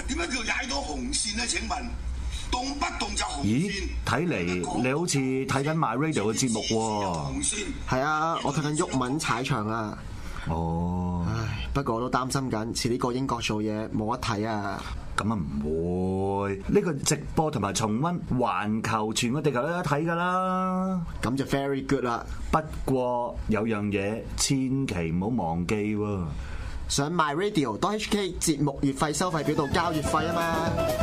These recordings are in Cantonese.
點解叫踩到紅線咧？請問動不動就紅咦線？ 睇嚟你好似睇緊 My Radio 嘅節目喎。 紅線係啊，我睇緊毓民踩場啊。 哦， 唉，不過我都擔心緊，似呢個英國做嘢冇得睇啊。 咁啊唔會，呢個直播同埋重溫環球全個地球都有得睇㗎啦。 咁就 very good 啦。 不過有樣嘢千祈唔好忘記喎， 上 myradio.hk 節目月費收費表度交月費啊嘛。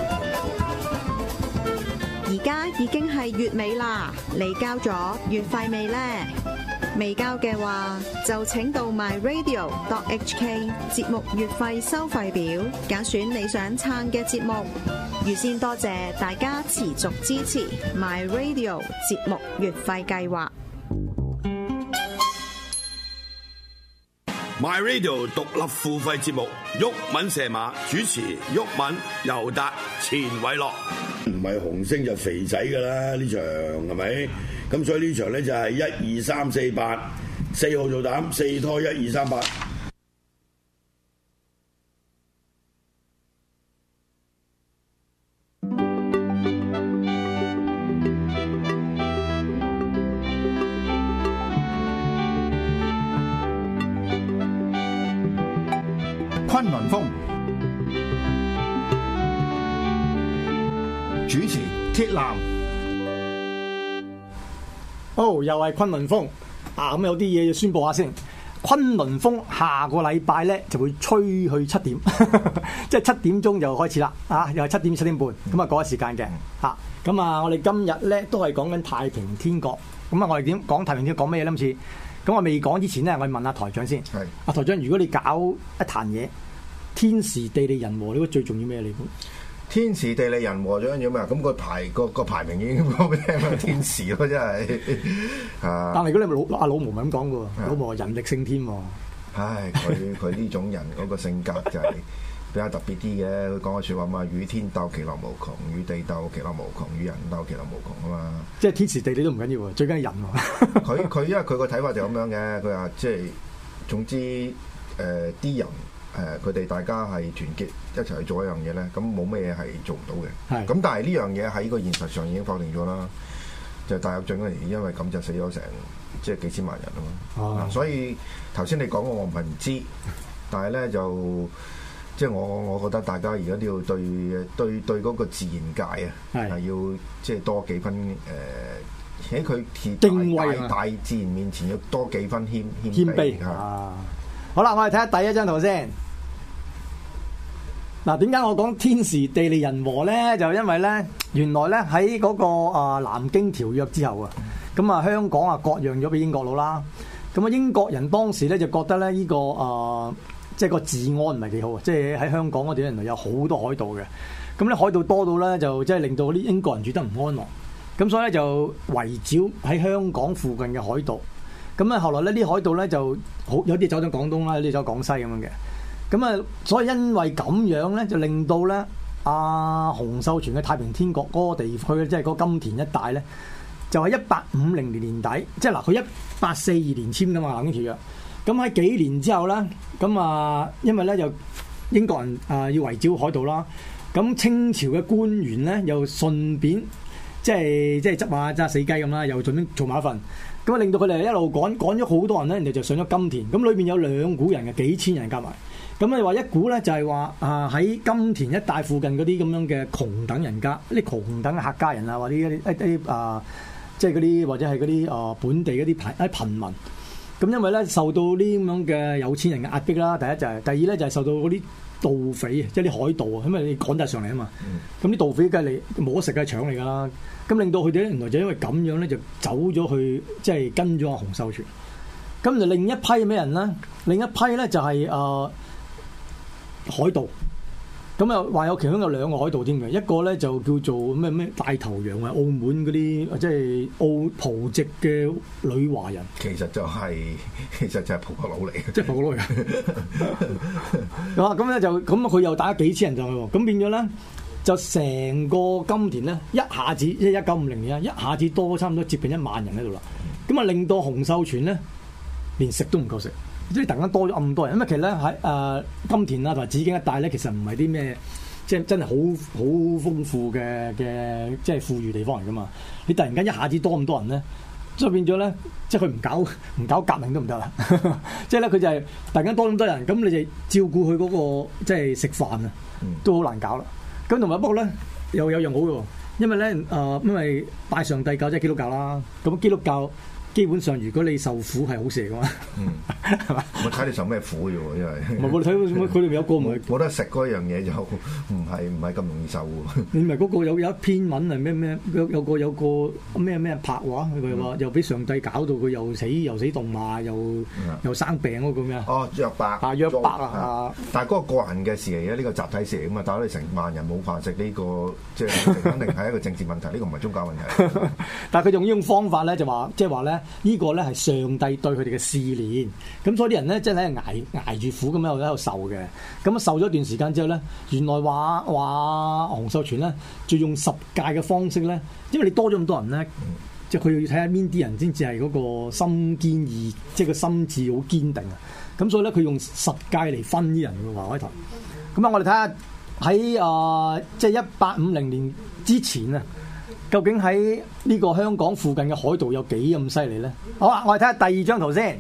而家已經係月尾啦，你交咗月費未呢？未交嘅話，就請到 myradio.hk 節目月費收費表，揀選你想撐嘅節目。預先多謝大家持續支持 myradio 節目月費計劃。 My Radio 獨立付費節目，毓民射馬主持，毓民、尤達、錢偉樂。唔係紅星就肥仔㗎啦，呢場係咪？咁所以呢場咧就係1、2、3、4、8，4號做膽，4拖1、2、3、8。 崑崙風主持鐵男。 好，又係崑崙風啊！咁有啲嘢要宣佈下先。崑崙風下個禮拜咧就會吹去7點，即係7點鐘就開始啦。啊，又係7點7點半咁啊，嗰個時間嘅嚇。咁啊，我哋今日咧都係講緊太平天國。咁啊，我哋點講太平天國講咩咧？今次咁我未講之前咧，我問下台長先。係啊，台長，如果你搞一壇嘢，天時地利人和，你覺得最重要咩？你估？ 天時地利人和最緊要咩？咁個排名已經講俾你聽，天時咯，真係啊！ 但係如果你老毛咪咁講嘅喎，老毛話人力勝天喎。 唉，佢呢種人嗰個性格就係比較特別啲嘅。佢講嘅説話嘛，與天鬥其樂無窮，與地鬥其樂無窮，與人鬥其樂無窮啊嘛。即係天時地利都唔緊要喎，最緊係人喎。 佢因為佢個睇法就咁樣嘅，佢話即係總之啲人。佢哋大家係團結一齊去做一樣嘢咧，咁冇咩嘢係做唔到嘅。咁但係呢樣嘢喺個現實上已經否定咗啦。就大躍進嗰年，因為咁就死咗成即係幾千萬人啊嘛。所以頭先你講我唔係唔知，但係咧就即係我覺得大家而家都要對嗰個自然界啊，係要即係多幾分喺佢敬畏大自然面前要多幾分謙卑啊！好啦，我哋睇下第一張圖先。嗱，點解我講天時地利人和咧？就因為咧，原來咧喺嗰個南京條約之後啊，咁啊香港啊割讓咗俾英國佬啦。咁啊英國人當時咧就覺得咧呢個即係個治安唔係幾好啊，即係喺香港嗰啲原來有好多海盜嘅。咁咧海盜多到咧就即係令到啲英國人住得唔安樂。咁所以咧就圍剿喺香港附近嘅海盜。咁啊後來咧啲海盜咧就好有啲走咗廣東啦，有啲走廣西咁樣嘅。咁啊，所以因為咁樣咧，就令到咧洪秀全嘅太平天國嗰個地區咧，即係嗰金田一帶咧，就係1850年年底，即係嗱，佢1842年簽噶嘛南京條約。咁喺幾年之後咧，咁啊，因為咧就英國人要圍剿海盜啦，咁清朝嘅官員咧又順便即係執下揸死雞咁啦，又順便做埋一份。咁啊，令到佢哋一路趕咗好多人咧，人哋就上咗金田。咁裏邊有2股人嘅，幾千人夾埋。咁你話一股咧就係話喺金田一帶附近嗰啲咁樣嘅窮等人家，啲窮等嘅客家人啊，或者一啲即係嗰啲或者係嗰啲本地嗰啲貧民。咁因為咧受到呢啲咁樣嘅有錢人嘅壓迫啦，第一就係，第二咧就係受到嗰啲盜匪即係啲海盜啊，因為你趕晒上嚟啊嘛。咁啲盜匪梗係你冇得食嘅搶嚟㗎啦。咁令到佢哋咧原來就因為咁樣咧就走咗去即係跟咗洪秀全。咁就另一批係咩人咧？另一批咧就係海盜。咁啊話有其中有2個海盜添嘅，一個咧就叫做咩大頭羊啊，澳門嗰啲即係葡籍嘅女華人。其實就係葡國佬嚟嘅，即係葡國佬嚟嘅。咁咧就咁佢又打幾千人上去喎，咁變咗咧就成個金田咧一下子即係1950年啊，一下子多差唔多接近1萬人喺度啦。咁啊令到洪秀全咧連食都唔夠食。即係突然間多咗咁多人，因為其實咧喺金田啊同埋紫荊一帶咧，其實唔係啲咩即係真係好豐富嘅即係富裕地方嚟噶嘛。你突然間一下子多咁多人咧，所以變咗咧，即係佢唔搞革命都唔得啦。即係咧，佢就係突然間多咁多人，咁你就照顧佢嗰個即係食飯啊，都好難搞啦。咁同埋不過咧，又有樣好嘅，因為咧因為拜上帝教即係基督教啦，咁基督教。基本上，如果你受苦係好事嚟噶嘛，係嘛？ 我睇你受咩苦啫喎，因為唔係我睇佢哋有個唔係冇得食嗰樣嘢就唔係咁容易受喎。 你咪嗰個有一篇文係咩有個咩拍話，佢話又俾上帝搞到佢又死動罵，又生病嗰個咩啊？ 哦，約伯約伯啊！ 但係嗰個個人嘅事嚟嘅，呢個集體事嚟噶嘛，但係你成萬人冇飯食呢個，即係肯定係一個政治問題，呢個唔係宗教問題。 但係佢用呢種方法咧，就話即係話咧。呢個咧係上帝對佢哋嘅試煉，咁所以啲人咧即係喺度捱住苦咁樣喺度受嘅，咁受咗一段時間之後咧，原來話洪秀全咧就用十戒嘅方式咧，因為你多咗咁多人咧，即係佢要睇下邊啲人先至係嗰個心堅意，即係個心智好堅定啊，咁所以咧佢用十戒嚟分啲人嘅話開頭。咁啊，我哋睇下喺即係1850年之前啊。究竟喺呢個香港附近嘅海盜有幾咁犀利咧？好啦，我哋睇下第二張圖先。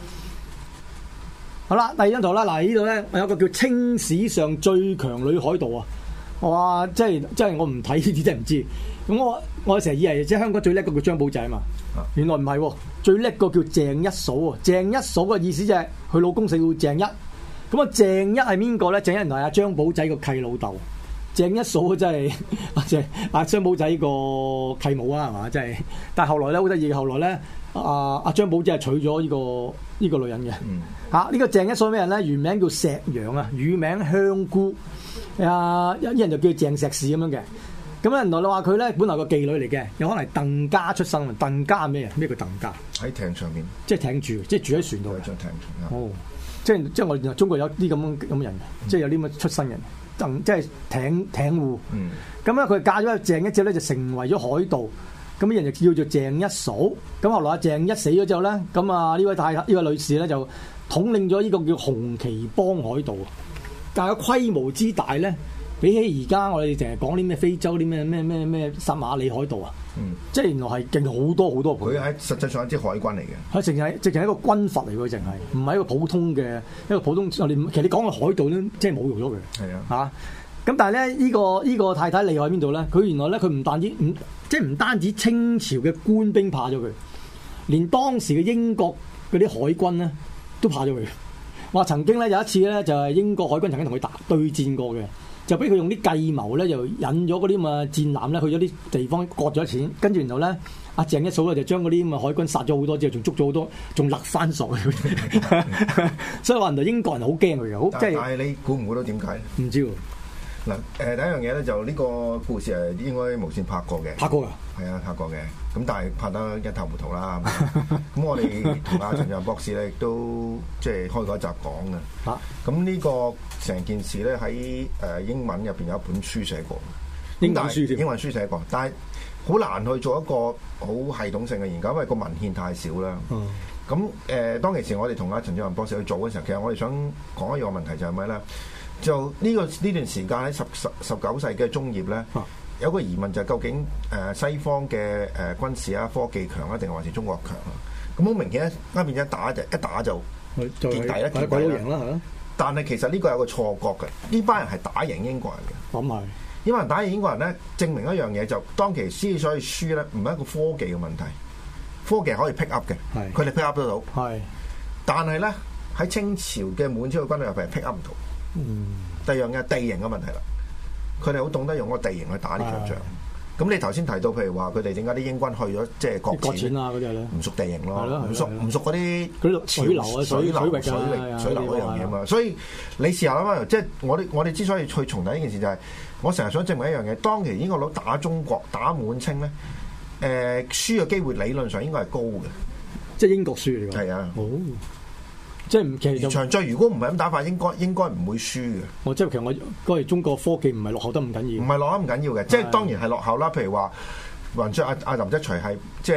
好啦，第二張圖啦，嗱呢度咧，我有個叫清史上最強女海盜啊！哇，即係我唔睇呢啲真係唔知。咁我成日以為即係香港最叻個叫張寶仔啊嘛，原來唔係喎，最叻個叫鄭一嫂喎。鄭一嫂嘅意思就係佢老公姓鄭一。咁啊，鄭一係邊個咧？鄭一原來係阿張寶仔個契老豆。鄭一嫂真係即係阿張寶仔個契母啊，係嘛？真係，但係後來咧好得意，後來咧阿張寶仔係娶咗呢個女人嘅嚇。呢個鄭一嫂咩人咧？原名叫石洋啊，乳名香菇。一人就叫鄭石士咁樣嘅。咁咧原來你話佢咧本來個妓女嚟嘅，有可能係鄧家出身。鄧家係咩人？咩叫鄧家？喺艇上面， 即係艇住，即係住喺船度。 喺張艇上。 哦，即係我哋中國有啲咁嘅人，即係有啲咁嘅出身人。即係艇戶，咁咧佢嫁咗鄭一之後咧，就成為咗海盜。咁啲人就叫做鄭一嫂。咁後來阿鄭一死咗之後咧，咁啊呢位女士咧就統領咗呢個叫紅旗幫海盜。但係個規模之大咧，比起而家我哋成日講啲咩非洲啲咩撒馬里海盜啊，即係原來係勁好多好多倍。 佢喺實際上係一支海軍嚟嘅， 佢直情係一個軍閥嚟嘅，淨係唔係一個普通嘅其實你講嘅海盜咧，即係侮辱咗佢。係啊，咁但係咧呢個太太厲害喺邊度咧？佢原來咧佢唔單止清朝嘅官兵怕咗佢，連當時嘅英國嗰啲海軍咧都怕咗佢。話曾經咧有一次咧就係英國海軍曾經同佢對戰過嘅。就俾佢用啲計謀咧，就引咗嗰啲咁嘅戰艦咧去咗啲地方割咗錢，跟住然後咧，阿鄭一嫂咧就將嗰啲咁嘅海軍殺咗好多之後，仲捉咗好多，仲勒翻索。所以話原來英國人好驚佢嘅，好即係。 但係你估唔估到點解？ 唔知喎。 嗱，第一樣嘢咧就呢個故事係應該無線拍過嘅。 拍過㗎？ 係啊，拍過嘅。咁但係拍得一頭糊塗啦。咁我哋同阿陳志宏博士咧亦都即係開過一集講嘅。咁呢個成件事咧喺英文入邊有一本書寫過。英文書寫過，但係好難去做一個好系統性嘅研究，因為個文獻太少啦。咁當其時我哋同阿陳志宏博士去做嘅時候，其實我哋想講一個問題就係咩咧？就呢段時間喺19世紀中葉咧，有個疑問就係究竟西方嘅軍事啊科技強啊，定還是中國強啊？咁好明顯咧，啱邊一打就跌底啦， 鬼佬贏啦嚇。 但係其實呢個有個錯覺嘅，呢班人係打贏英國人嘅。 咁係， 因為打贏英國人咧，證明一樣嘢就當其時所以輸咧，唔係一個科技嘅問題，科技可以 pick up 嘅，佢哋 pick up 得到。係，但係咧喺清朝嘅滿清嘅軍隊入邊 pick up 唔到。第二樣嘅地形嘅問題啦，佢哋好懂得用個地形去打呢場仗。咁你頭先提到，譬如話佢哋點解啲英軍去咗即係割錢啊嗰啲咧？唔熟地形咯，唔熟嗰啲水流啊、水流嗰樣嘢嘛。所以你試下諗下，即係我哋之所以去重提呢件事，就係我成日想證明一樣嘢。當其英國佬打中國、打滿清咧，輸嘅機會理論上應該係高嘅， 即係英國輸嚟㗎。係啊。即係其實場仗如果唔係咁打法，應該唔會輸嘅。 即係其實我哋中國科技唔係落後得唔緊要， 唔係落後唔緊要嘅，即係當然係落後啦。譬如話，雲雀阿林則徐係即係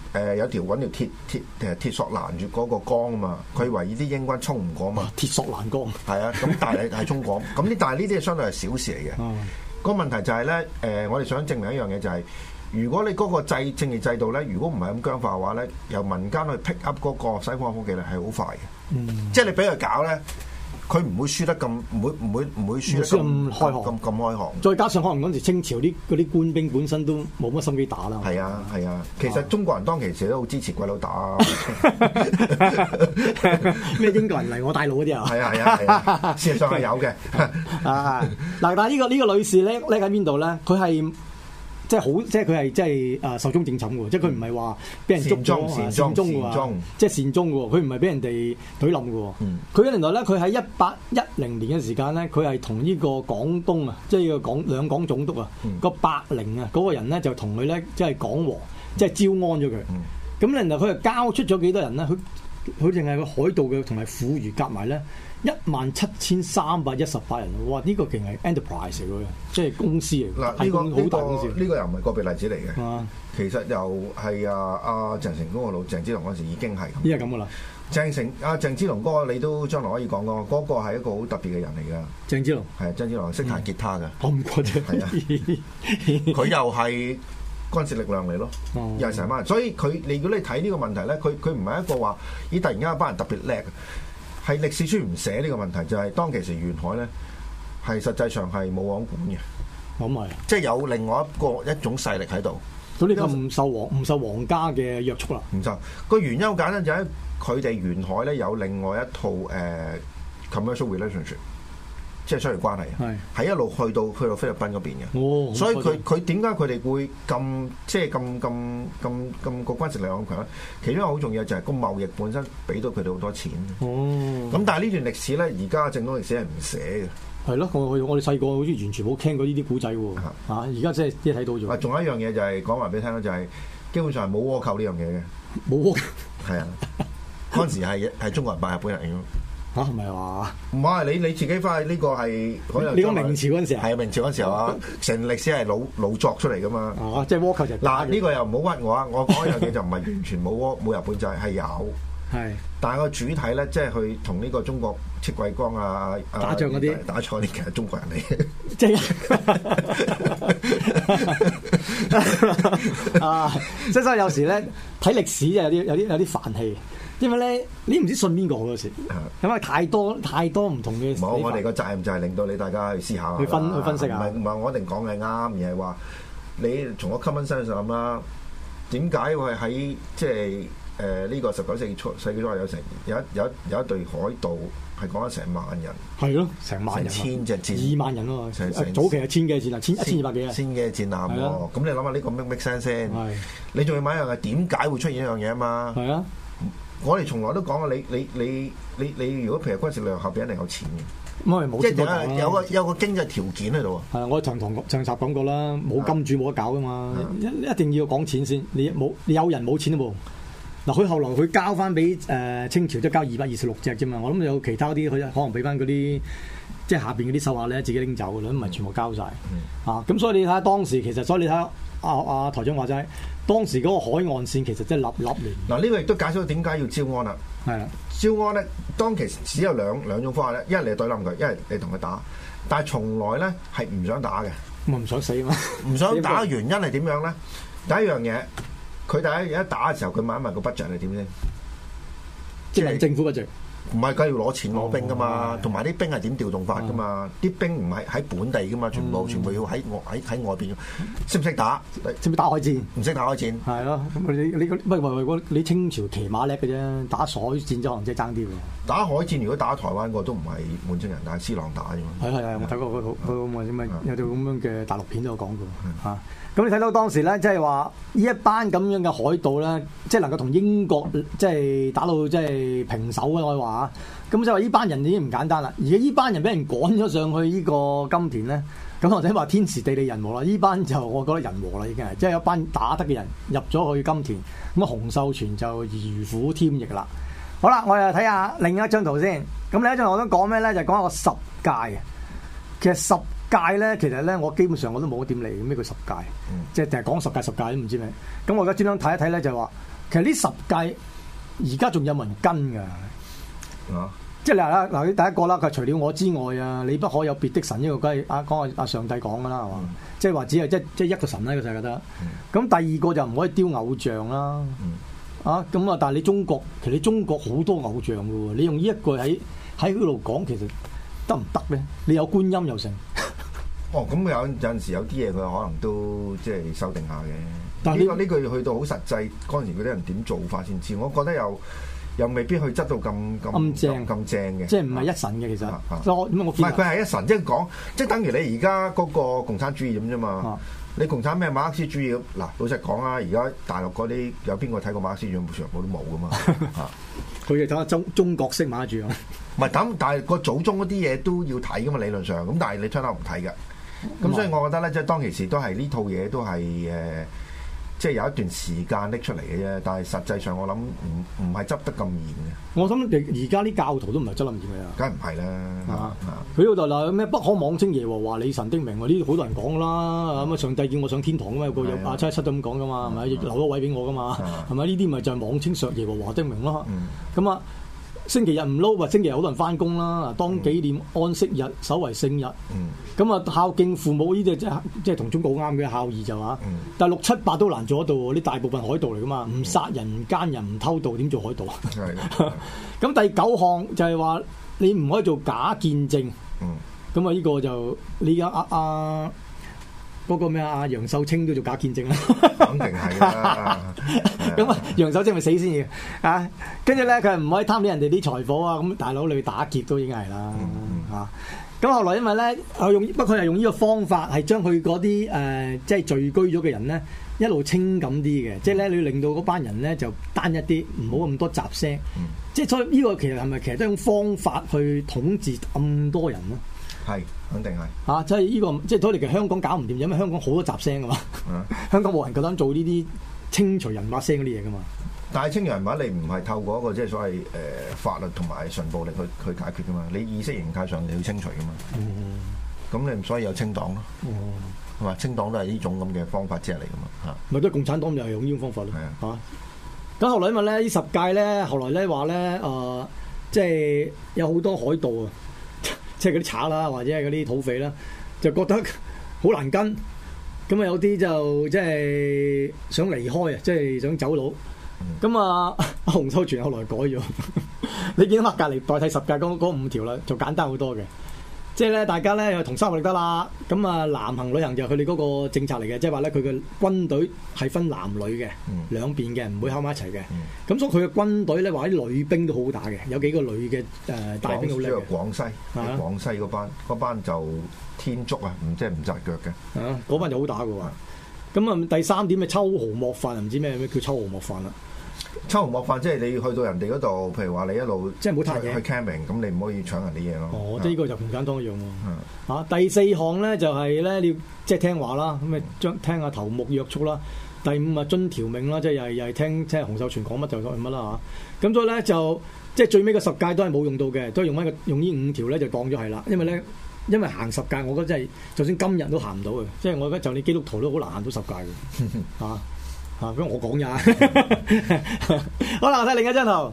有條揾條鐵索攔住嗰個江啊嘛，佢懷疑啲英軍衝唔過嘛。 鐵索攔江。係啊，咁但係衝過，但係呢啲係相對係小事嚟嘅。個問題就係咧，我哋想證明一樣嘢就係，如果你嗰個政治制度咧，如果唔係咁僵化嘅話咧，由民間去 pick up 嗰個西方科技咧係好快嘅。即係你俾佢搞咧。佢唔會輸得咁，唔會輸得咁開行。 再加上可能嗰陣時清朝嗰啲官兵本身都冇乜心機打啦。 係啊，其實中國人當其時都好支持鬼佬打。 咩英國人嚟我大佬嗰啲啊？ 係啊，事實上係有嘅。 嗱，但係呢個女士咧喺邊度咧？佢係。即係好，即係佢係即係壽終正寢嘅喎，即係佢唔係話俾人捉咗善終嘅喎，即係善終嘅喎，佢唔係俾人哋懟冧嘅喎。佢原來咧，佢喺1810年嘅時間咧，佢係同呢個廣東啊，即係兩廣總督啊，個伯靈啊嗰個人咧就同佢咧即係講和，即係招安咗佢。咁然後佢就交出咗幾多人咧？佢淨係個海盜嘅同埋婦孺夾埋咧。17,318人，哇！呢個勁係 enterprise 嚟嘅，即係公司嚟。 嗱，呢個好大公司。呢個又唔係個別例子嚟嘅。其實又係阿鄭成功個老鄭芝龍嗰時已經係咁。 依家咁噶啦。 鄭芝龍嗰個你都將來可以講講，嗰個係一個好特別嘅人嚟㗎。鄭芝龍係鄭芝龍識彈吉他㗎。我唔覺得。係啊。佢又係軍事力量嚟咯，又係成班人。所以如果你睇呢個問題咧，佢唔係一個話咦突然間一班人特別叻。係歷史書唔寫呢個問題，就係當其時沿海咧，係實際上係冇王管嘅， 咁係， 即係有另外一種勢力喺度。 咁呢個唔受皇家嘅約束啦。唔受個原因好簡單，就係佢哋沿海咧有另外一套commercial relationship， 即係商業關係，係一路去到菲律賓嗰邊嘅。所以佢點解佢哋會咁即係咁個軍事力量咁強咧？其中一個好重要就係個貿易本身俾到佢哋好多錢。咁但係呢段歷史咧，而家正統歷史係唔寫嘅。 係咯，我哋細個好似完全冇聽過呢啲古仔喎。而家即係睇到咗。 仲有一樣嘢就係講埋俾你聽啦，就係基本上係冇倭寇呢樣嘢嘅。 冇倭寇係啊，嗰陣時係中國人扮日本人嘅。 嚇係咪話？唔係你自己翻去呢個係你講明朝嗰陣時係明朝嗰陣時候啊，成歷史係老作出嚟噶嘛。 即係倭寇就嗱呢個又唔好屈我啊！我講一樣嘢就唔係完全冇日本仔係有。係，但係個主體咧，即係去同呢個中國戚繼光啊打仗嗰啲其實中國人嚟嘅。 即係即係所以有時咧睇歷史就有啲煩氣。因為咧，你唔知信邊個好多時，因為太多唔同嘅。 冇，我哋個責任就係令到你大家去思考下， 去分析下。 唔係我一定講嘅啱，而係話你從個 common sense 上諗啦，點解會喺即係呢個19世紀初有一隊海盜係講咗成萬人？係咯，成萬人，千隻戰，2萬人咯。早期係千幾戰艦，1200幾啊，千幾戰艦喎。咁你諗下呢個 make sense 先？你仲要買一樣嘅，點解會出現一樣嘢啊嘛？係啊。我哋從來都講啊，你如果譬如軍事力量後邊一定有錢嘅，即係有個經濟條件喺度啊。係啊，我上集講過啦，冇金主冇得搞噶嘛，一定要講錢先。你有人冇錢都冇。嗱，佢後來佢交翻俾清朝，即係交226隻啫嘛。我諗有其他啲佢可能俾翻嗰啲即係下邊嗰啲手下咧自己拎走嘅啦，唔係全部交晒。咁所以你睇下當時其實，所以你睇下阿台長話齋。當時嗰個海岸線其實真係立亂。嗱，呢個亦都解釋到點解要招安啦。係啊，招安咧，當其時只有兩種方法咧，一係你對冧佢，一係你同佢打。但係從來咧係唔想打嘅。唔想死嘛？唔想打嘅原因係點樣咧？第一樣嘢，佢第一打嘅時候，佢問一問個 budget 係點先？即係政府 budget。唔係，梗係要攞錢攞兵噶嘛，同埋啲兵係點調動法噶嘛？啲兵唔係喺本地噶嘛，全部要喺外邊。識唔識打？識唔識打海戰？唔識打海戰。係咯，咁你清朝騎馬叻嘅啫，打海戰就可能即係爭啲喎。打海戰如果打台灣個都唔係滿清人，但係施琅打啫嘛。係，我睇過有套咁樣嘅大陸片都有講過嚇。咁你睇到當時咧，即係話呢一班咁樣嘅海盜咧，即係能夠同英國即係打到即係平手嘅，我話咁就話呢班人已經唔簡單啦。而家呢班人俾人趕咗上去呢個金田咧，咁或者話天時地利人和啦。呢班就我覺得人和啦，已經係即係有班打得嘅人入咗去金田，咁啊洪秀全就如虎添翼啦。好啦，我哋睇下另一張圖先。咁另一張圖我想講咩咧？就講一個十戒嘅。其實十戒咧，其實咧我基本上我都冇點理咩叫十戒，即係淨係講十戒都唔知咩。咁我而家專登睇一睇咧，就話其實呢十誡而家仲有冇人跟㗎？ 啊！ 即係嗱，第一個啦，佢除了我之外啊，你不可有別的神，呢個梗係講阿上帝講㗎啦，係嘛？即係話只係即係一個神啦，呢個世界得。咁第二個就唔可以雕偶像啦。啊，咁啊，但係你中國其實你中國好多偶像㗎喎，你用呢一句喺嗰度講，其實得唔得咧？你有觀音又成。 哦，咁有陣時有啲嘢佢可能都即係修訂下嘅。 但係呢句去到好實際，嗰陣時嗰啲人點做法先知？我覺得又未必去質到咁正嘅， 即係唔係一神嘅其實。唔係佢係一神，即係講，即係等於你而家嗰個共產主義咁啫嘛。你共產咩馬克思主義嗱？老實講啊，而家大陸嗰啲有邊個睇過馬克思主義？全部都冇噶嘛。 佢哋睇下中國式馬克思主義。 唔係咁，但係個祖宗嗰啲嘢都要睇噶嘛，理論上。咁但係你出口唔睇嘅。咁所以我覺得咧，即係當其時都係呢套嘢都係即係有一段時間拎出嚟嘅啫。但係實際上我諗唔係執得咁嚴嘅。我諗而家啲教徒都唔係執得咁嚴嘅。 梗係唔係啦。 佢嗰度嗱咩不可妄稱耶和華你神的名，呢啲好多人講啦。咁啊上帝叫我上天堂噶嘛，有個阿717都咁講噶嘛，係咪留咗位俾我噶嘛？係咪呢啲咪就係妄稱上耶和華的名咯？咁啊。星期日唔撈，或星期日好多人翻工啦。當紀念安息日，守為聖日。咁啊，孝敬父母呢啲即係同中國好啱嘅孝義就話。但係6、7、8都難做得到喎。啲大部分海盜嚟噶嘛，唔殺人、唔奸人、唔偷盜，點做海盜啊？咁第9項就係話你唔可以做假見證。咁啊，呢個就你而家嗰個咩啊？楊秀清都做假見證啦， 肯定係啦。 咁啊，楊秀清咪死先嘅啊！跟住咧，佢唔可以貪啲人哋啲財貨啊！咁大佬你去打劫都已經係啦嚇。咁後來因為咧，佢係用呢個方法係將佢嗰啲即係聚居咗嘅人咧，一路清咁啲嘅，即係咧你要令到嗰班人咧就單一啲，唔好咁多雜聲。即係所以呢個其實係咪其實都係一種方法去統治咁多人咯？ 係，肯定係。 即係呢個，即係所以其實香港搞唔掂，因為香港好多雜聲噶嘛。香港冇人夠膽做呢啲清除人把聲嗰啲嘢噶嘛。 但係清除人把你唔係透過一個即係所謂法律同埋純暴力去解決噶嘛？你意識形態上你要清除噶嘛。咁你所以有清黨咯。係嘛？清黨都係呢種咁嘅方法之一嚟噶嘛。嚇。 咪都係共產黨就係用呢種方法咯。係啊。咁後來因為咧呢10屆咧，後來咧話咧即係有好多海盜啊。即係嗰啲賊啦，或者係嗰啲土匪啦，就覺得好難跟，咁啊有啲就即係想離開啊，即係想走佬。咁啊，洪秀全後來改咗，你見到隔離代替10屆嗰5條啦，就簡單好多嘅。即係咧，大家咧又同心合力得啦。咁啊，南行旅行就係佢哋嗰個政策嚟嘅，即係話咧佢嘅軍隊係分男女嘅，兩邊嘅，唔會喺埋一齊嘅。咁所以佢嘅軍隊咧話啲女兵都好打嘅，有幾個女嘅大兵好叻嘅。 廣西嗰班就天竺啊，即係唔紮腳嘅。 嗰班就好打嘅喎。咁啊，第3點嘅秋毫莫犯，唔知咩叫秋毫莫犯啦。 秋毫莫犯，即係你去到人哋嗰度，譬如話你一路即係唔好彈嘢去 camping， 咁你唔可以搶人啲嘢咯。 哦，即係呢個就共產黨一樣喎。第4項咧就係咧你要即係聽話啦，咁啊聽下頭目約束啦。第5啊遵條命啦，即係又係聽即係洪秀全講乜就講乜啦嚇。咁所以咧就即係最尾嘅10屆都係冇用到嘅，都係用呢5條咧就當咗係啦。因為行10屆，我覺得真係就算今日都行唔到嘅，即係我覺得就你基督徒都好難行到10屆嘅嚇。咁我講咋？好啦，我睇另一張圖。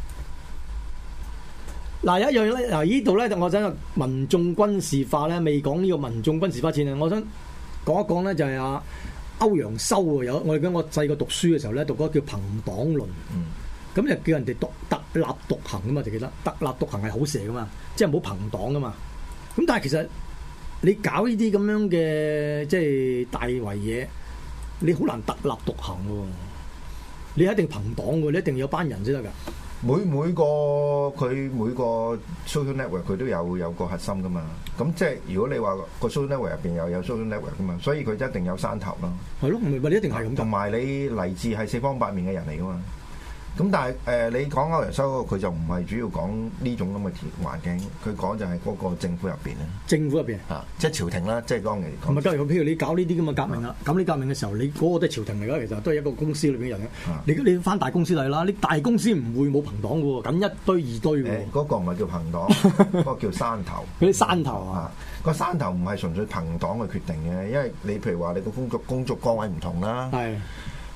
嗱，有一樣咧，呢度咧，我想民眾軍事化咧，未講呢個民眾軍事化前啊，我想講一講咧，就係歐陽修啊，我細個讀書嘅時候咧，讀嗰個叫《朋黨論》。咁就叫人哋特立獨行噶嘛，就記得特立獨行係好事噶嘛，即係唔好朋黨噶嘛。咁但係其實你搞呢啲咁樣嘅即係大圍嘢。你好難特立獨行喎，你一定朋黨喎，你一定有班人先得㗎。 每個 social network 佢都有個核心噶嘛，咁即係如果你話個 social network 入邊又有 social network 噶嘛，所以佢一定有山頭咯。 係咯，唔係你一定係咁。 同埋你嚟自係四方八面嘅人嚟噶嘛。咁但係你講歐陽修嗰個佢就唔係主要講呢種咁嘅環境，佢講就係嗰個政府入邊咧。 政府入邊即係朝廷啦，即係當年講。 唔係，譬如你搞呢啲咁嘅革命啦，咁你革命嘅時候，你嗰個都係朝廷嚟㗎，其實都係一個公司裏邊嘅人嘅。你翻大公司嚟啦，你大公司唔會冇朋黨嘅喎，咁一堆二堆喎。 嗰個唔係叫朋黨，嗰個叫山頭。 嗰啲山頭啊， 個山頭唔係純粹朋黨嘅決定嘅，因為你譬如話你個工作崗位唔同啦。係。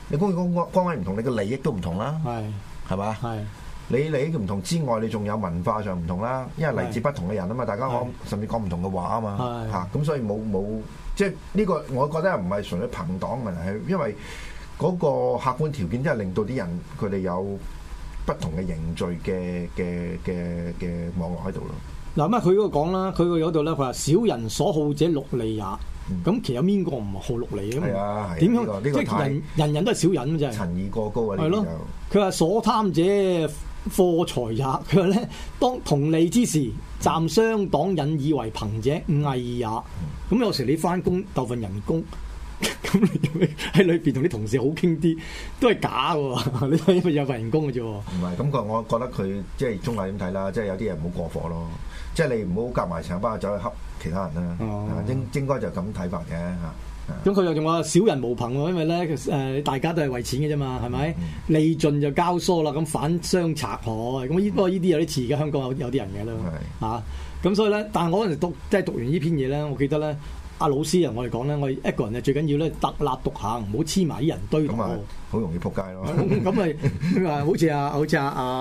你公共崗位唔同，你嘅利益都唔同啦，係嘛？你利益唔同之外，你仲有文化上唔同啦，因為嚟自不同嘅人啊嘛，大家甚至講唔同嘅話啊嘛，嚇咁所以冇即係呢個，我覺得唔係純粹朋黨問題，係因為嗰個客觀條件真係令到啲人佢哋有不同嘅凝聚嘅網絡喺度咯。嗱咁佢嗰個講啦，佢嗰度咧，佢話小人所好者祿利也。咁其實有邊個唔好祿利嘅嘛？係啊，點樣？即係人都係小人啫。陳意過高啊！ 係咯。佢話所貪者貨財也。佢話咧，當同利之時，暫相黨引以為朋者，偽也。咁有時你翻工鬥份人工，咁你喺裏邊同啲同事好傾啲，都係假嘅。你因為有份人工嘅啫。 唔係，咁我覺得佢即係中立點睇啦，即係有啲人唔好過火咯。即係你唔好夾埋成班走去恰其他人啦。應該就咁睇法嘅嚇。 咁佢又仲話小人無朋喎，因為咧大家都係為錢嘅啫嘛，係咪？利盡就交疏啦，咁反相賊害。咁不過呢啲有啲似嘅，香港有啲人嘅啦嚇。咁所以咧，但係我嗰陣讀完呢篇嘢咧，我記得咧，阿老師啊，我哋講咧，我哋一個人最緊要咧，特立獨行，唔好黐埋啲人堆度。咁啊， 好容易撲街咯。 咁咪話好似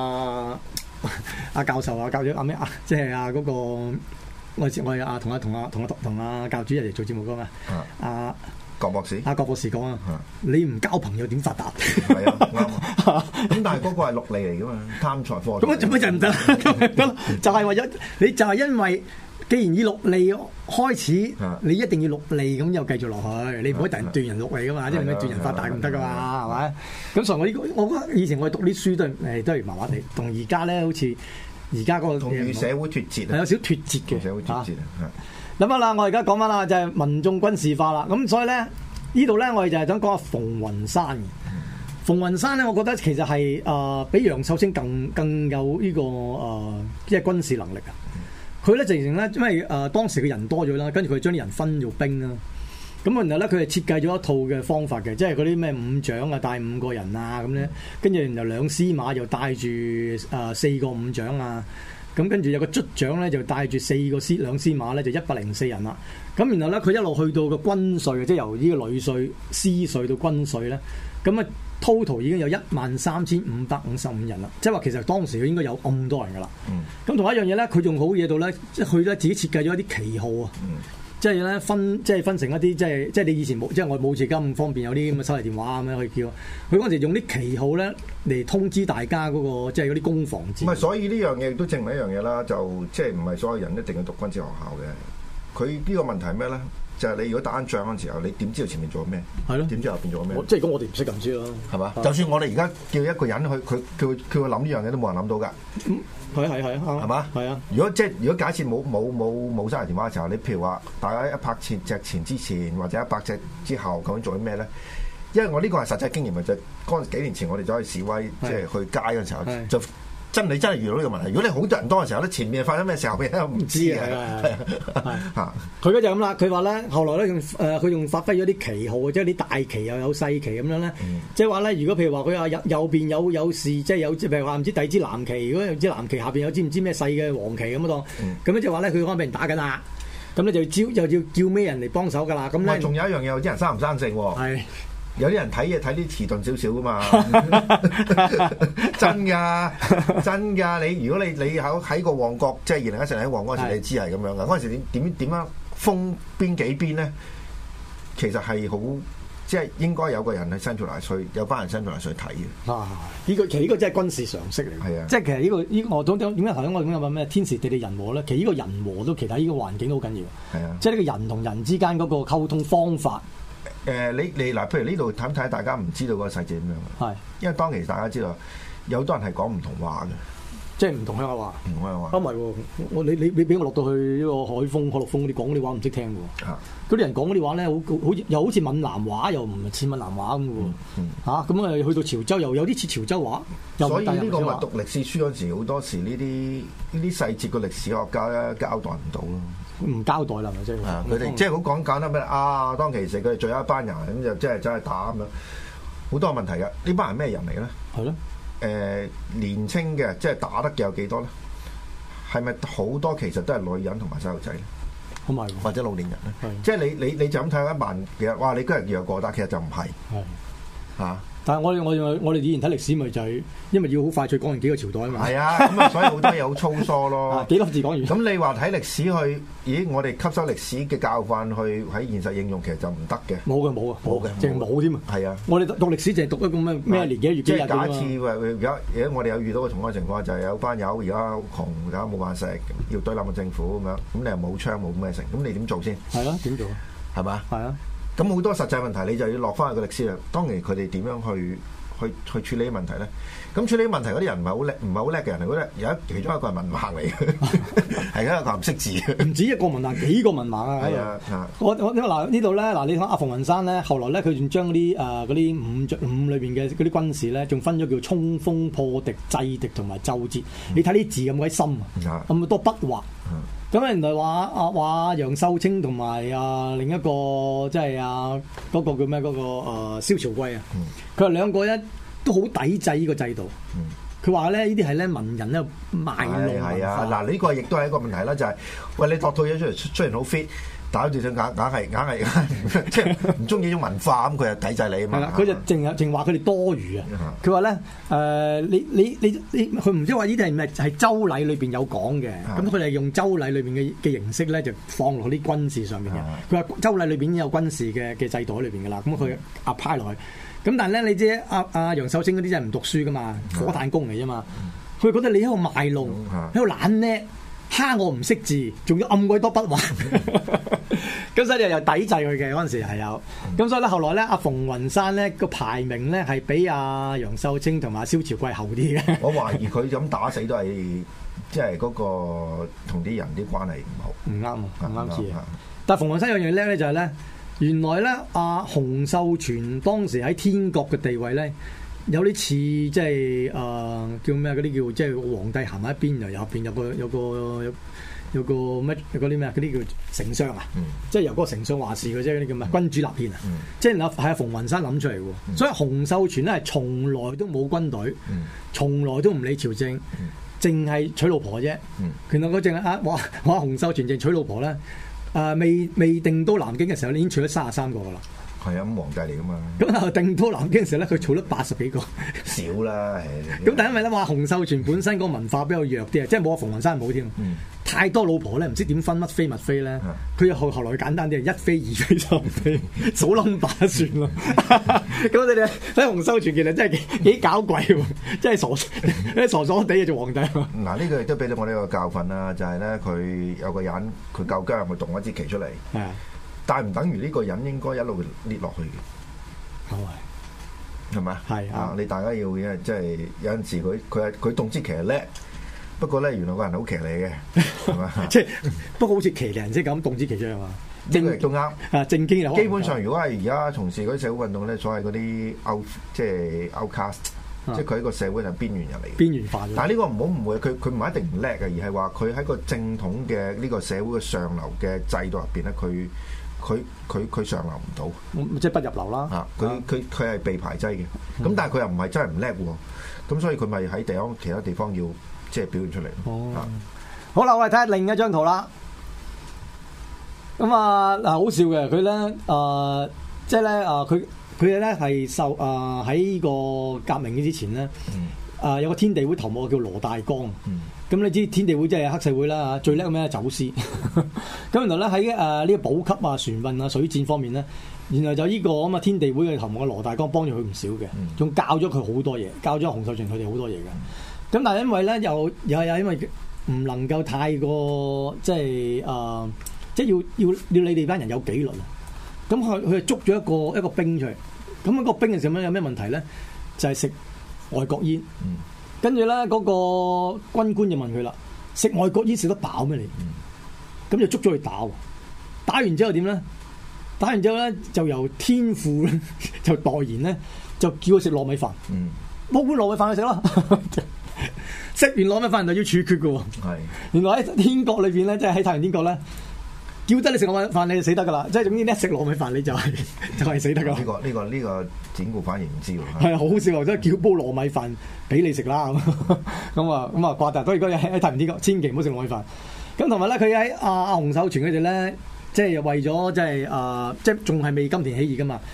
阿教授啊，教咗阿咩啊，即係嗰個我係同阿教主一齊做節目噶嘛。阿郭博士， 郭博士講啊，你唔交朋友點發達？ 係啊，啱啊。咁但係嗰個係祿利嚟噶嘛，貪財貨。 咁做乜就唔得？就係為咗你，就係因為既然以祿利開始，你一定要祿利咁又繼續落去，你唔可以突然斷人祿利噶嘛，即係咩斷人發達唔得噶嘛，係咪？咁所以我覺得以前我哋讀啲書都係麻麻地，同而家咧好似而家嗰個同與社會脫節， 係有少脫節嘅。 社會脫節諗下啦，我而家講翻啦，就係民眾軍事化啦。咁所以咧，呢度咧我哋就係想講下馮雲山嘅。馮雲山咧，我覺得其實係比楊秀清更有呢個即係軍事能力啊。佢咧就形成咧，因為當時嘅人多咗啦，跟住佢將啲人分做兵啦。咁然後咧，佢係設計咗一套嘅方法嘅，即係嗰啲咩五長啊，帶5個人啊咁咧，跟住然後2司馬又帶住4個五長啊。咁跟住有個卒長咧，就帶住2司馬咧，就104人啦。咁然後咧，佢一路去到個軍稅，即係由呢個旅稅、司稅到軍稅咧，咁啊 total 已經有13555人啦。即係話其實當時佢應該有咁多人噶啦。咁同一樣嘢咧，佢仲好嘢到咧，即係佢咧自己設計咗一啲旗號啊。即係咧分成一啲即係你以前冇，即係我冇似而家咁方便有啲咁嘅手提電話咁樣去叫。佢嗰陣時用啲旗號咧嚟通知大家嗰個即係嗰啲攻防戰。 唔係，所以呢樣嘢都證明一樣嘢啦，就即係唔係所有人一定要讀軍事學校嘅。佢呢個問題係咩咧？就係你如果打緊仗嗰陣時候，你點知道前面做咩？係咯，點知後邊做咩？ 即係咁，我哋唔識咁知咯， 係嘛？就算我哋而家叫一個人去，佢諗呢樣嘢都冇人諗到㗎。 係啊， 係嘛？係啊。如果假設冇手提電話嘅時候，你譬如話大家100隻前之前或者100隻之後，究竟做啲咩咧？因為我呢個係實際經驗，就係嗰幾年前我哋走去示威，即係去街嗰陣時候就。你真係遇到呢個問題。如果你好多人多嘅時候咧，前面發生咩時候，你都唔知嘅。 佢嗰就咁啦。佢話咧，後來咧佢仲發揮咗啲旗號，即係啲大旗又有細旗咁樣咧。即係話咧，如果譬如話佢話右邊有事，即係有譬如話唔知第二支藍旗，如果有支藍旗下邊有支唔知咩細嘅黃旗咁當，咁咧即係話咧，佢可能俾人打緊啦。咁咧就要叫咩人嚟幫手㗎啦。咁咧仲有一樣嘢，有啲人生唔生性喎。係。有啲人睇嘢睇啲遲鈍少少噶嘛，真㗎！你如果你喺個旺角，即係2014年喺旺角嗰時，你知係咁樣噶。嗰陣時點樣封邊幾邊咧？其實係好，即係應該有個人係伸出嚟去，有班人伸出嚟去睇嘅。 其實呢個真係軍事常識嚟嘅。係啊，即係其實呢個我點解頭先我咁有咩天時地利人和咧？其實呢個人和都其實呢個環境都好緊要。係啊，即係呢個人同人之間嗰個溝通方法。 你嗱，譬如呢度睇睇，大家唔知道個細節點樣。係，因為當其時大家知道有好多人係講唔同話嘅，即係唔同鄉下話。唔同鄉下話。唔係喎，你俾我落到去呢個海陸豐嗰啲講嗰啲話唔識聽喎。嗰啲人講嗰啲話咧，又好似閩南話，又唔似閩南話咁嘅喎。咁啊去到潮州又有啲似潮州話。所以呢個咪讀歷史書嗰時，好多時呢啲細節個歷史學家咧交代唔到咯。唔交代啦，咪即係佢哋即係好講簡單咩啊？當其時佢哋最後一班人咁就即係走去打咁樣，好多問題嘅。呢班人咩人嚟嘅咧？係咯。年青嘅即係打得嘅有幾多咧？係咪好多其實都係女人同埋細路仔咧？咁係，或者老年人咧？即係你就咁睇一萬，其實哇！你今日弱過，但其實就唔係。係。 但係我哋以前睇歷史咪就係因為要好快脆講完幾個朝代啊嘛。 係啊，咁啊，所以好多嘢好粗疏咯。 幾多字講完？ 咁你話睇歷史去，咦？我哋吸收歷史嘅教訓去喺現實應用，其實就唔得嘅。 冇嘅，淨係冇添啊！ 係啊， 我哋讀歷史淨係讀一個咩年幾月幾日。 即係假設而家我哋有遇到個同樣情況，就係有班友而家窮，而家冇飯食，要對冧個政府咁樣，咁你又冇槍冇咩成，咁你點做先？ 係咯，點做？ 係嘛？ 係啊。咁好多實際問題，你就要落翻去個歷史啦。當然佢哋點樣去處理問題咧？咁處理問題嗰啲人唔係好叻嘅人嚟，嗰其中一個係文盲嚟嘅，係一個唔識字嘅。唔止一個文盲，幾個文盲啊！ 係啊， 我嗱呢度咧，嗱你睇阿馮雲山咧，後來咧佢仲將嗰啲五裏邊嘅嗰啲軍事咧，仲分咗叫衝鋒、破敵、制敵同埋奏折。你睇啲字咁鬼深啊，咁多筆畫。咁原來話楊秀清同埋另一個即係嗰個叫咩嗰個蕭朝貴啊，佢話兩個都好抵制呢個制度。佢話咧呢啲係咧文人咧賣弄文化。係啊，嗱呢個亦都係一個問題啦，就係喂你度套嘢出嚟，雖然好 fit。但好似想硬係即係唔中意呢種文化咁，佢就抵制你啊嘛。係啦，佢就淨話佢哋多餘啊。佢話咧你佢唔知話呢啲係咪係周禮裏邊有講嘅？咁佢哋用周禮裏邊嘅形式咧，就放落啲軍事上面嘅。佢話周禮裏邊已經有軍事嘅制度喺裏邊噶啦。咁佢apply落去。咁但係咧，你知阿楊秀清嗰啲真係唔讀書噶嘛，火炭工嚟啫嘛。佢覺得你喺度賣弄，喺度懶叻。蝦我唔識字，仲要暗鬼多筆畫，咁所以又抵制佢嘅嗰陣時係有，咁所以咧後來咧阿馮雲山咧個排名咧係比阿楊秀清同埋蕭朝貴後啲嘅。我懷疑佢咁打死都係即係嗰個同啲人啲關係唔好，唔啱唔啱字。但係馮雲山有樣嘢叻咧就係咧，原來咧阿洪秀全當時喺天國嘅地位咧。有啲似即係叫咩嗰啲叫即係皇帝行喺一邊，又入邊有個咩嗰啲咩嗰啲叫丞相啊，即係由嗰個丞相話事嘅啫，嗰啲叫咩君主立憲啊，即係係阿馮雲山諗出嚟喎。所以洪秀全咧係從來都冇軍隊，從來都唔理朝政，淨係娶老婆啫。原來嗰淨係話洪秀全淨娶老婆咧，未定都南京嘅時候，已經娶咗33個噶啦。係啊，咁皇帝嚟噶嘛？咁啊，定都南京嘅時候咧，佢儲咗80幾個，少啦。咁但係因為咧話洪秀全本身個文化比較弱啲啊，即係冇阿馮雲山冇添。太多老婆咧，唔知點分乜妃乜妃咧。佢後來簡單啲，1妃、2妃、3妃，數 number 算咯。咁你哋睇洪秀全其實真係幾搞鬼喎，真係傻傻地做皇帝。嗱，呢個亦都俾到我呢個教訓啦，就係咧佢有個人佢夠薑，佢動一支旗出嚟。但係唔等於呢個人應該一路列落去嘅，係咪？係啊！你大家要即係有陣時佢動之騎係叻，不過咧原來個人好騎呢嘅，係嘛？即係不過好似騎呢人先咁動之騎出啊嘛！正亦都啱啊！正經又基本上，如果係而家從事嗰啲社會運動咧，所謂嗰啲即係 outcast，即係佢喺個社會係邊緣人嚟嘅，邊緣化。但係呢個唔好誤會，佢唔係一定唔叻嘅，而係話佢喺個正統嘅呢個社會嘅上流嘅制度入邊咧，佢上流唔到，即係不入流啦。佢係被排擠嘅。咁但係佢又唔係真係唔叻喎。咁所以佢咪喺其他地方要即係表現出嚟。好啦，我哋睇下另一張圖啦。咁好笑嘅佢咧即係咧佢咧係受喺個革命之前咧有個天地會頭目叫羅大剛。咁你知天地會即係黑社會啦嚇，最叻咩走私。咁原來咧喺呢個補給船運水戰方面咧，原來就呢個咁天地會嘅頭目嘅羅大剛幫咗佢唔少嘅，仲教咗佢好多嘢，教咗洪秀全佢哋好多嘢嘅。咁但係因為咧又因為唔能夠太過即係即係要你哋班人有紀律啊。咁佢就捉咗一個兵出嚟。咁個兵嘅時候有咩問題咧？就係食外國煙。跟住咧，嗰個軍官就問佢啦：食外國煙食得飽咩你？咁就捉咗佢打。打完之後點咧？打完之後咧，就由天父咧就代言咧，就叫佢食糯米飯。冇碗糯米飯去食咯。食完糯米飯就要處決嘅喎。原來喺天國裏邊咧，即係喺太陽天國咧，叫得你食糯米飯你就死得噶啦。即係總之一食糯米飯你就係死得噶。呢個典故反而唔知喎。係好好笑喎！即係叫煲糯米飯俾你食啦咁啊掛達。所以喺太陽天國千祈唔好食糯米飯。咁同埋咧，佢喺阿洪秀全佢哋咧，即係為咗即係仲係未金田起義噶嘛。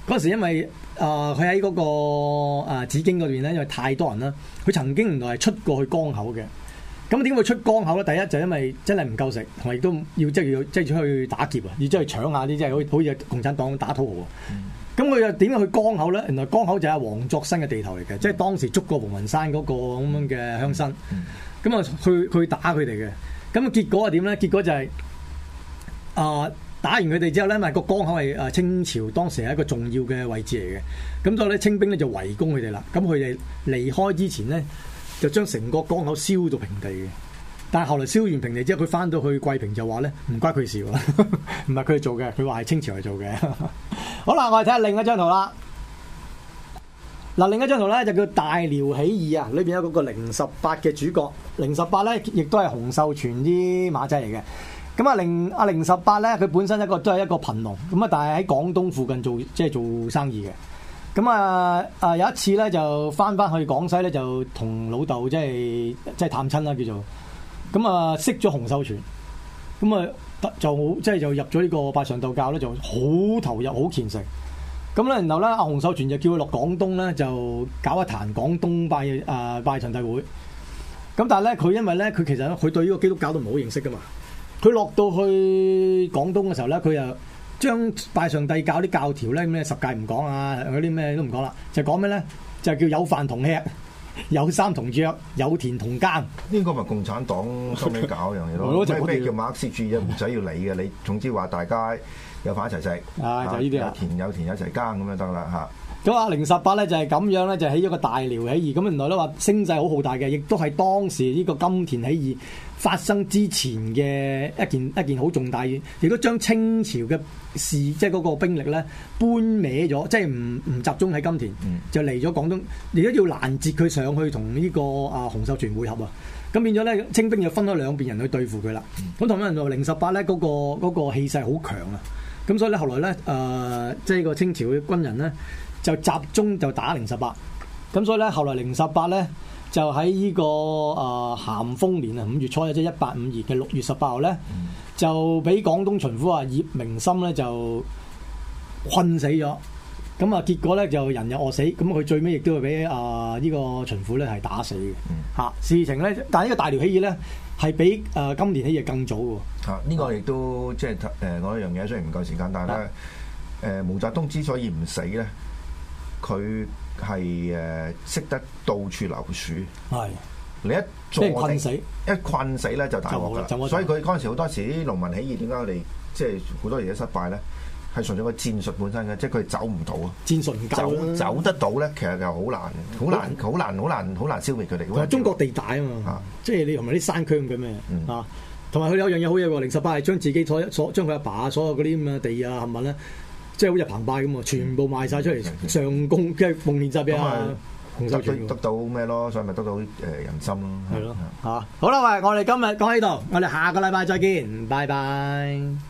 嗰時因為佢喺嗰個紫荊嗰邊咧，因為太多人啦，佢曾經原來係出過去江口嘅。咁點會出江口咧？第一就因為真係唔夠食，同埋亦都要出去打劫啊，要出去搶下啲即係好似共產黨打土豪啊。咁佢又點樣去江口咧？原來江口就係黃作新嘅地頭嚟嘅，即係當時捉過黃雲山嗰個咁樣嘅鄉紳。咁啊去打佢哋嘅。咁結果係點咧？結果就係打完佢哋之後咧，因為個江口係清朝當時係一個重要嘅位置嚟嘅。咁所以咧清兵咧就圍攻佢哋啦。咁佢哋離開之前咧，就將成個江口燒到平地嘅，但係後來燒完平地之後，佢翻到去桂平就話咧唔關佢事喎，唔係佢哋做嘅，佢話係清朝嚟做嘅。好啦，我哋睇下另一張圖啦。嗱，另一張圖咧就叫大遼起義啊，裏邊有嗰個018嘅主角，018咧亦都係洪秀全啲馬仔嚟嘅。咁018咧，佢本身都係一個貧農，咁啊，但係喺廣東附近做生意嘅。咁有一次咧就翻去廣西咧就同老豆即係探親啦叫做，咁識咗洪秀全，咁就入咗呢個拜上帝教咧就好投入好虔誠，咁咧然後咧阿洪秀全就叫佢落廣東咧就搞一壇廣東拜上帝會，咁但係咧佢因為咧佢其實佢對呢個基督教都唔係好認識噶嘛，佢落到去廣東嘅時候咧佢又將拜上帝教啲教條咧咩十戒唔講啊，嗰啲咩都唔講啦，就講咩咧？就叫有飯同吃，有衫同着，有田同耕。呢個咪共產黨收尾搞一樣嘢咯。咩叫馬克思主義？唔使要理嘅，你總之話大家有飯一齊食， 就呢啲啊， 有田一齊耕咁就得啦嚇。 咁018咧就係咁樣咧，就起咗個大遼起義。咁原來咧話聲勢好浩大嘅，亦都係當時呢個金田起義發生之前嘅一件好重大嘅，亦都將清朝嘅即係嗰個兵力咧搬歪咗，即係唔集中喺金田，就嚟咗廣東，亦都要攔截佢上去同呢個洪秀全會合啊。咁變咗咧，清兵就分咗兩邊人去對付佢啦。咁同埋人話018咧嗰個氣勢好強啊。咁所以咧後來咧即係個清朝嘅軍人咧，就集中就打018，咁所以咧後來018咧就喺呢個咸豐年5月初即係1852嘅6月18號咧，就俾廣東巡撫葉明心咧就困死咗，咁結果咧就人又餓死，咁佢最尾亦都會俾呢個巡撫咧係打死嘅。事情咧，但係呢個大遼起義咧係比金田起義更早喎。 呢個亦都即係講一樣嘢，雖然唔夠時間，但係咧毛澤東之所以唔死咧。佢係識得到處留樹，你一坐困死， 一困死咧就大鑊噶啦。所以佢嗰陣時好多時啲農民起義點解我哋即係好多嘢失敗咧？係純粹個戰術本身嘅，即係佢走唔到啊！ 戰術唔夠走得到咧，其實就好難消滅佢哋。 中國地大啊嘛，即係你同埋啲山區咁嘅咩啊？同埋佢有樣嘢好嘢喎，018係將自己將佢阿爸所有嗰啲咁嘅地啊，係咪咧？即係好似澎湃咁啊！全部賣晒出嚟上貢，即係奉獻晒俾洪秀全， 得到咩咯？所以咪得到人心咯。 係咯，好啦，喂，我哋今日講喺度，我哋下個禮拜再見，拜拜。